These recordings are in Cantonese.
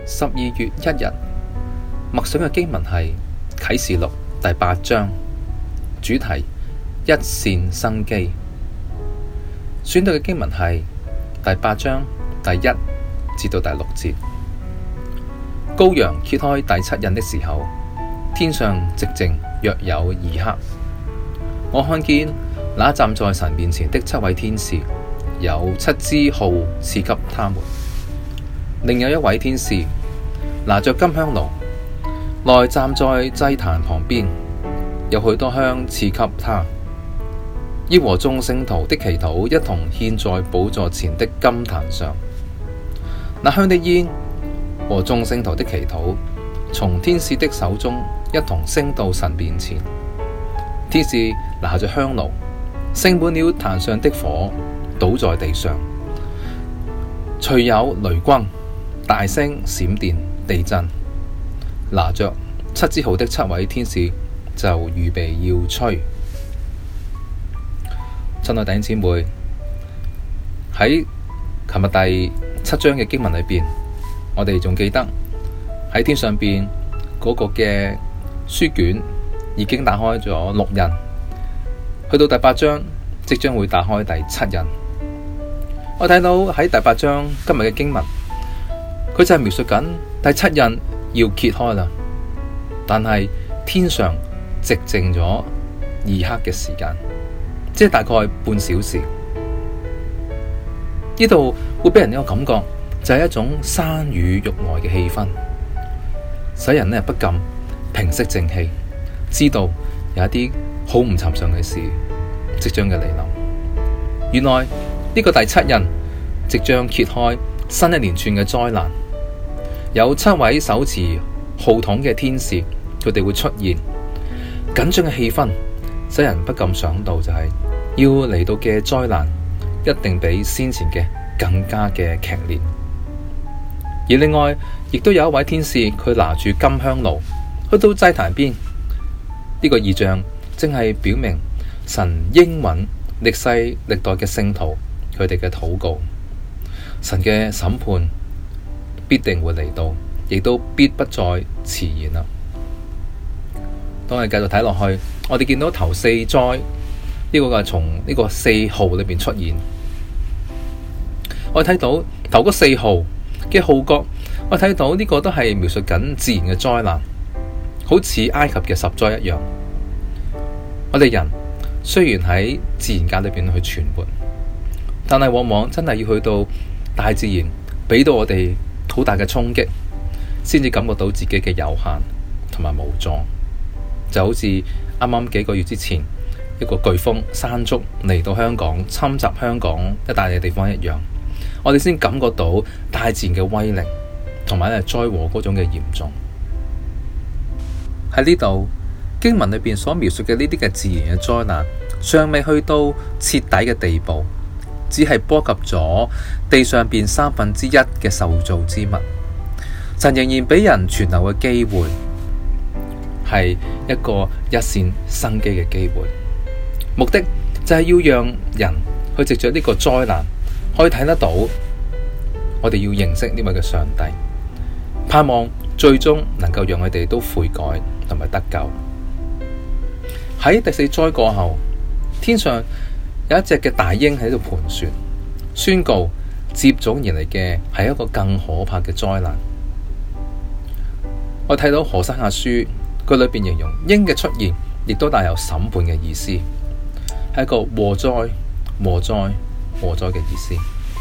12月1日默想嘅經文係啟示錄第8章，主題一線生機。選讀嘅經文係第8章第1至到第6節。羔羊揭開第7印的時候，天上寂靜約有2刻。我看見那站在神面前的7位天使，有7支號賜給他們。另有一位天使拿着金香爐，來站在祭壇旁邊，有許多香賜給他，要和眾聖徒的祈禱一同獻在寶座前的金壇上。那香的煙和眾聖徒的祈禱，從天使的手中一同升到神面前。天使拿着香爐，盛滿了壇上的火，倒在地上，隨有雷轟、大聲、閃電、地震。拿着7支號的7位天使就預備要吹。親愛弟兄姊妹，喺琴日第7章嘅經文裏邊，我哋仲記得喺天上邊嗰個嘅書卷已經打開咗6印，去到第8章即將會打開第7印。我睇到喺第8章今日嘅經文，佢就係描述緊第7印要揭開啦，但係天上寂靜咗2刻嘅時間，即係大概半小時。呢度會俾人一個感覺，就係一種山雨欲來嘅氣氛，使人不禁平息靜氣，知道有一啲好唔尋常嘅事即將嘅嚟臨。原來呢個第7印即將揭開新一連串嘅災難，有7位手持號筒嘅天使，佢哋會出現。緊張嘅氣氛使人不禁想到，就係要嚟到嘅災難一定比先前嘅更加嘅劇烈。而另外亦都有一位天使，佢拿住金香爐去到祭壇邊。呢個異象正係表明神應允歷世歷代嘅聖徒佢哋嘅禱告，神嘅審判必定會嚟到，亦都必不再遲延啦。當我哋繼續睇落去，我哋見到頭4災呢個係從呢個4號裏邊出現。我哋睇到頭嗰4號嘅號角，我睇到呢個都係描述緊自然嘅災難，好似埃及嘅10災一樣。我哋人雖然喺自然界裏邊去存活，但係往往真係要去到大自然俾到我哋好大嘅衝擊，先至感覺到自己嘅有限同埋無助。就好似啱啱幾個月之前一個颶風山竹嚟到香港，侵襲香港一帶嘅地方一樣，我哋先感覺到大自然嘅威力同埋災禍嗰種嘅嚴重。喺呢度經文裏邊所描述嘅呢啲嘅自然嘅災難，尚未去到徹底嘅地步，只係波及咗地上邊1/3嘅受造之物。神仍然俾人存留嘅機會，係一個一線生機嘅機會。目的就係要讓人去藉着呢個災難，可以睇得到我哋要認識呢位嘅上帝，盼望最終能夠讓佢哋都悔改同埋得救。喺第4災過後，天上有一隻嘅大鷹喺度盤旋，宣告接踵而嚟嘅係一個更可怕嘅災難。我睇到何西阿書佢裏邊形容鷹嘅出現，亦都帶有審判嘅意思，係一個禍災、禍災、禍災嘅意思。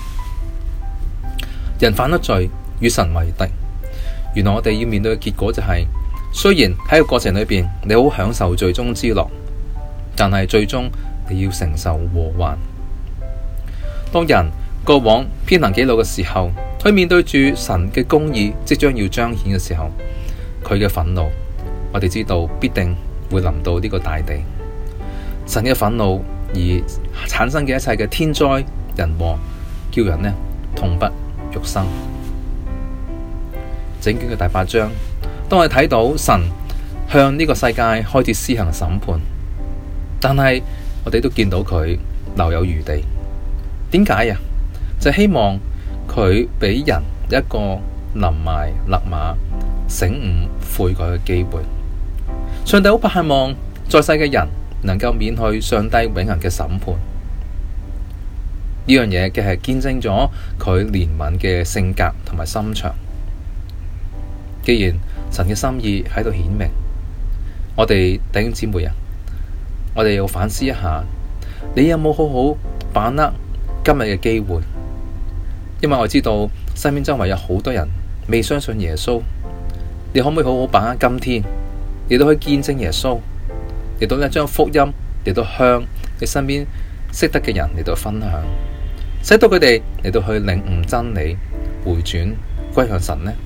人犯咗罪，與神為敵。原來我哋要面對嘅結果就係，雖然喺個過程裏邊你好享受罪中之樂，但係最終你要承受禍患。當人過往偏行己路嘅時候，佢面對住神嘅公義即將要彰顯嘅時候，佢嘅憤怒，我哋知道必定會臨到呢個大地。神嘅憤怒而產生嘅一切嘅天災人禍，叫人痛不欲生。整卷嘅第8章，當我哋睇到神向呢個世界開始施行審判，但係我哋都見到佢留有餘地。點解啊？就希望佢俾人一個臨埋勒馬醒悟悔改嘅機會。上帝好盼望在世嘅人能夠免去上帝永恆嘅審判。呢樣嘢嘅係見證咗佢憐憫嘅性格同埋心腸。既然神嘅心意喺度顯明，我哋弟兄姊妹啊，我哋要反思一下，你有冇好好把握今日嘅機會？因為我知道身邊周圍有好多人未相信耶穌，你可唔可以好好把握今天，嚟到去見證耶穌，嚟到咧將福音嚟到向你身邊識得嘅人嚟到分享，使到佢哋嚟到去領悟真理，回轉歸向神呢？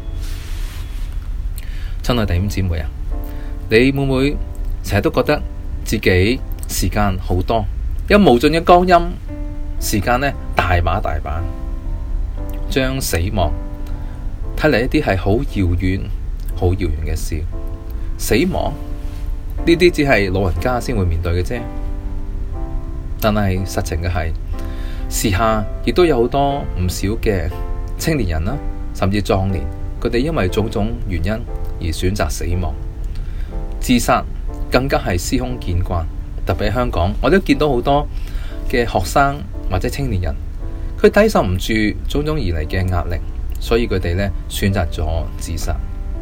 親愛弟兄姊妹啊，你會唔會成日都覺得自己時間好多，有無盡嘅光陰，時間呢大把大把，將死亡睇嚟一啲係好遙遠、好遙遠嘅事。死亡呢啲只係老人家先會面對嘅啫，但係實情嘅係，時下亦都有好多唔少嘅青年人啦，甚至壯年，佢哋因為種種原因而選擇死亡，自殺更加係司空見慣。特別喺香港，我都見到好多嘅學生或者青年人，佢抵受唔住種種而嚟嘅壓力，所以佢哋呢選擇咗自殺。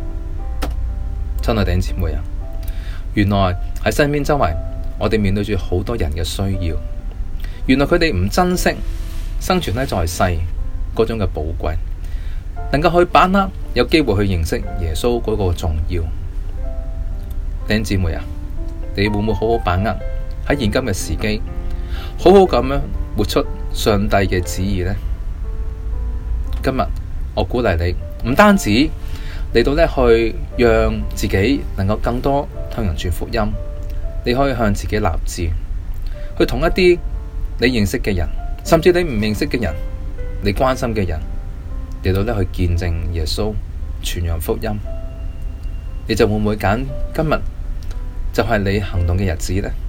親愛弟兄姊妹啊，原來喺身邊周圍，我哋面對住好多人嘅需要。原來佢哋唔珍惜生存在世嗰種嘅寶貴，能夠去把握有機會去認識耶穌嗰個重要。弟兄姊妹啊，你會唔會好好把握喺現今嘅時機，好好咁樣活出上帝嘅旨意呢？今日我鼓勵你，唔單止嚟到呢去讓自己能夠更多向人傳福音，你可以向自己立志，去同一啲你認識嘅人，甚至你唔認識嘅人，你關心嘅人，嚟到呢去見證耶穌，傳揚福音。你就會唔會揀今日就係你行動嘅日子呢？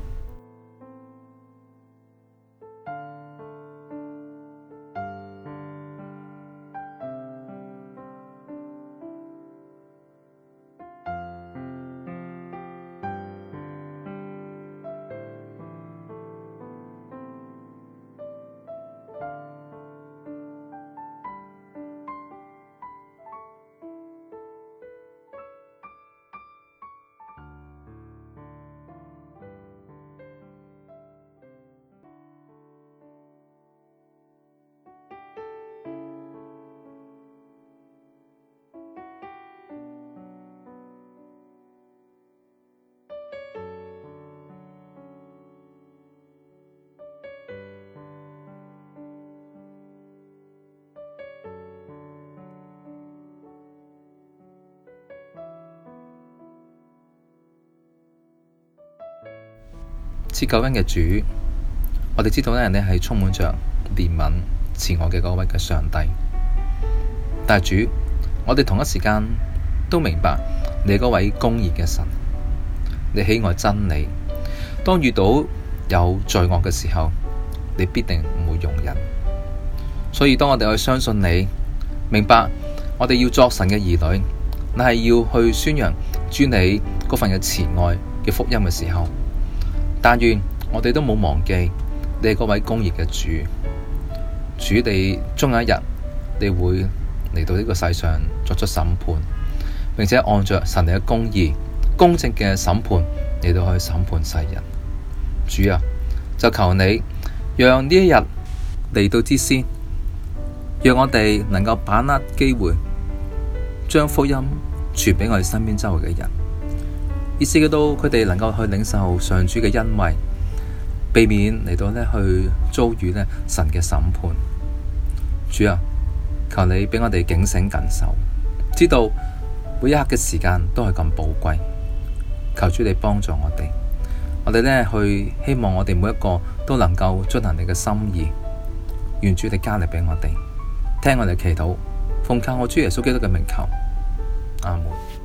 賜救恩嘅主，我哋知道咧，你係充滿着憐憫、慈愛嘅嗰位嘅上帝。但係主，我哋同一時間都明白你嗰位公義嘅神，你喜愛真理。當遇到有罪惡嘅時候，你必定唔會容忍。所以當我哋去相信你，明白我哋要作神嘅兒女，你係要去宣揚主你嗰份嘅慈愛嘅福音嘅時候，但願我哋都冇忘記你係嗰位公義嘅主。主，你終有一日你會嚟到呢個世上作出審判，並且按着神你嘅公義、公正嘅審判嚟到去審判世人。主啊，就求你讓呢一日嚟到之先，讓我哋能夠把握機會，將福音傳俾我哋身邊周圍嘅人，以至到佢哋能夠去領受上主嘅恩惠，避免嚟到去遭遇神嘅審判。主啊，求你俾我哋警醒謹守，知道每一刻嘅時間都係咁寶貴。求主你幫助我哋，我哋去希望我哋每一個都能夠遵行你嘅心意。願主你加力俾我哋，聽我哋祈禱，奉靠我主耶穌基督嘅名求，阿門。